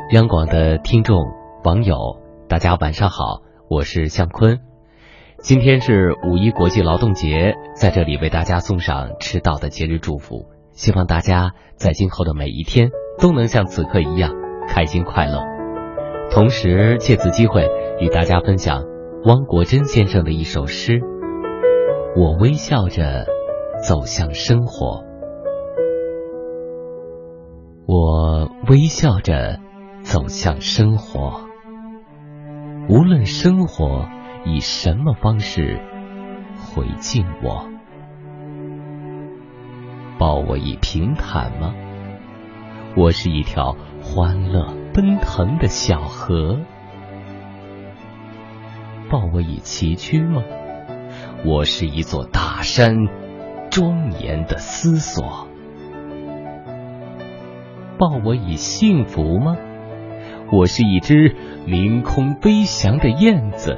央广的听众网友，大家晚上好，我是向坤。今天是5·1国际劳动节，在这里为大家送上迟到的节日祝福，希望大家在今后的每一天都能像此刻一样开心快乐。同时借此机会与大家分享汪国真先生的一首诗：我微笑着走向生活。我微笑着走向生活，无论生活以什么方式回敬我。抱我以平坦吗？我是一条欢乐奔腾的小河。抱我以崎岖吗？我是一座大山，庄严的思索。抱我以幸福吗？我是一只凌空飞翔的燕子。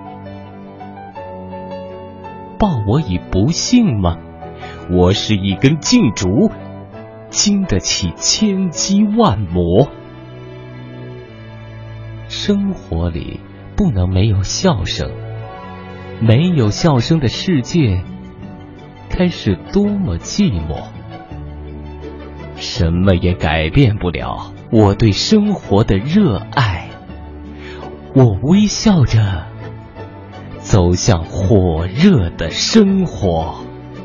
抱我以不幸吗？我是一根劲竹，经得起千击万磨。生活里不能没有笑声，没有笑声的世界该是多么寂寞。什么也改变不了我对生活的热爱。我微笑着走向火热的生活。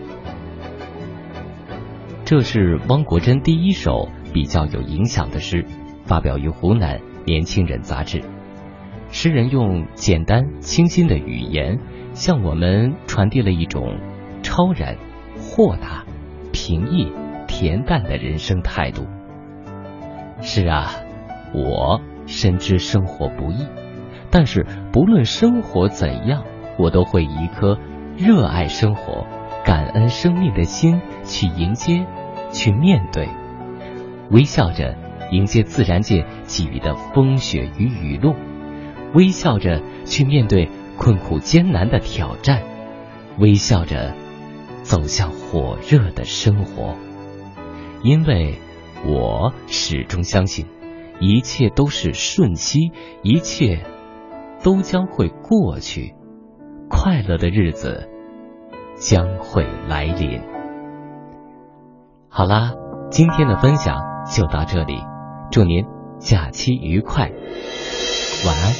这是汪国真第一首比较有影响的诗，发表于湖南年轻人杂志。诗人用简单清新的语言向我们传递了一种超然、豁达、平易、恬淡的人生态度。是啊，我深知生活不易，但是不论生活怎样，我都会以一颗热爱生活、感恩生命的心去迎接、去面对，微笑着迎接自然界给予的风雪与雨露，微笑着去面对困苦艰难的挑战，微笑着走向火热的生活。因为我始终相信，一切都是瞬息，一切都将会过去，快乐的日子将会来临。好啦，今天的分享就到这里，祝您假期愉快，晚安。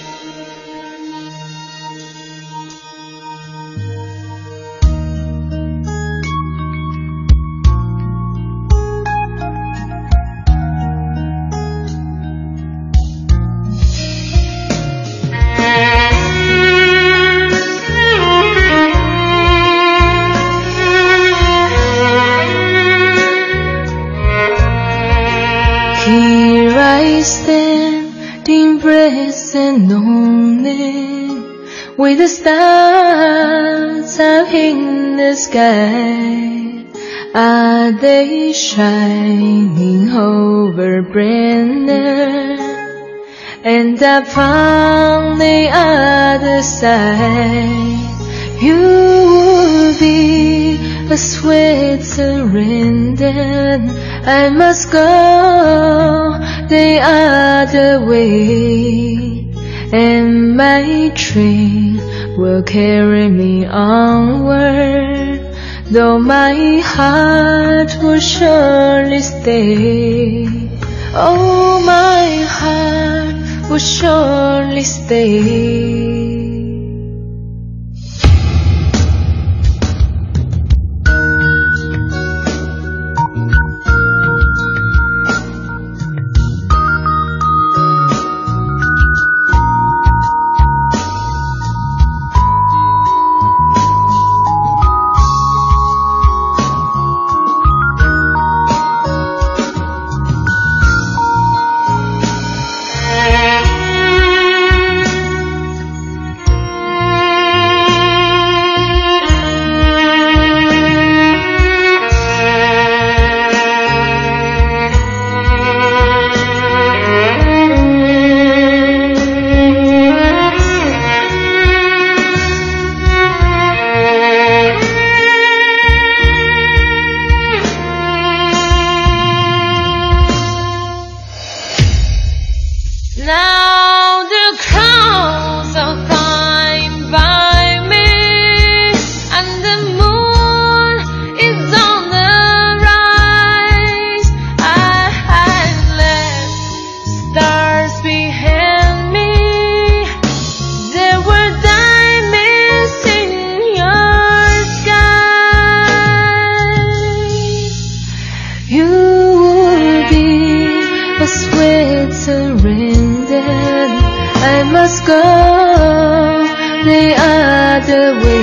Here I stand, depressed and lonely, with the stars up in the sky. Are they shining over Brenner? And upon the other side, you will be a sweet surrender. I must go the other way, and my train will carry me onward, though my heart will surely stay. Oh, my heart will surely stay. the way